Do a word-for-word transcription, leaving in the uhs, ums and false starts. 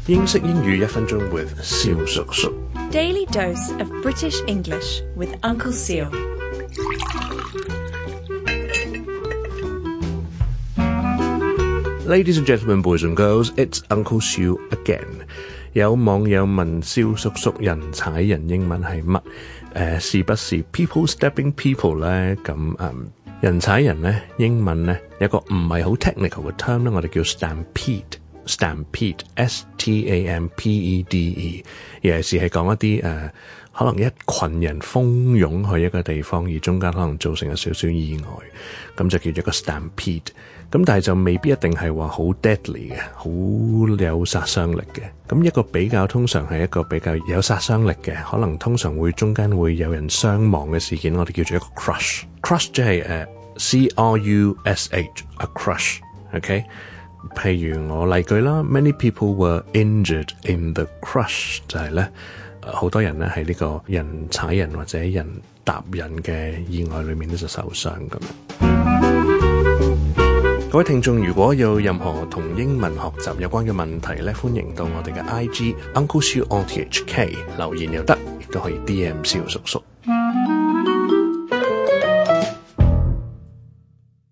英式英語一分鐘 with 蕭叔叔。 Daily dose of British English with Uncle Seal. Ladies and gentlemen, boys and girls, it's Uncle Seal again. 有網友問蕭叔叔人踩人英文係乜？誒、呃，是不是 people stepping people 咧？咁嗯，人踩人咧，英文咧有個唔係好 technical 嘅 term 咧，我哋叫 stampede。stampede，S T A M P E D E， 尤其是係講一啲誒、呃，可能一群人蜂擁去一個地方，而中間可能造成有少少意外，咁就叫做一個 stampede。咁但係就未必一定係話好 deadly 嘅，好有殺傷力嘅。咁一個比較通常係一個比較有殺傷力嘅，可能通常會中間會有人傷亡嘅事件，我哋叫做一個 crush。crush 即係誒 C R U S H，a crush。OK， 譬如我例句啦 ，many people were injured in the crush， 就係咧好多人咧喺呢個人踩人或者人踏人嘅意外裏面咧就受傷咁樣。各位聽眾，如果有任何同英文學習有關嘅問題咧，歡迎到我哋嘅 I G Uncle Seal on T H K 留言又得，亦都可以 D M 蕭叔叔。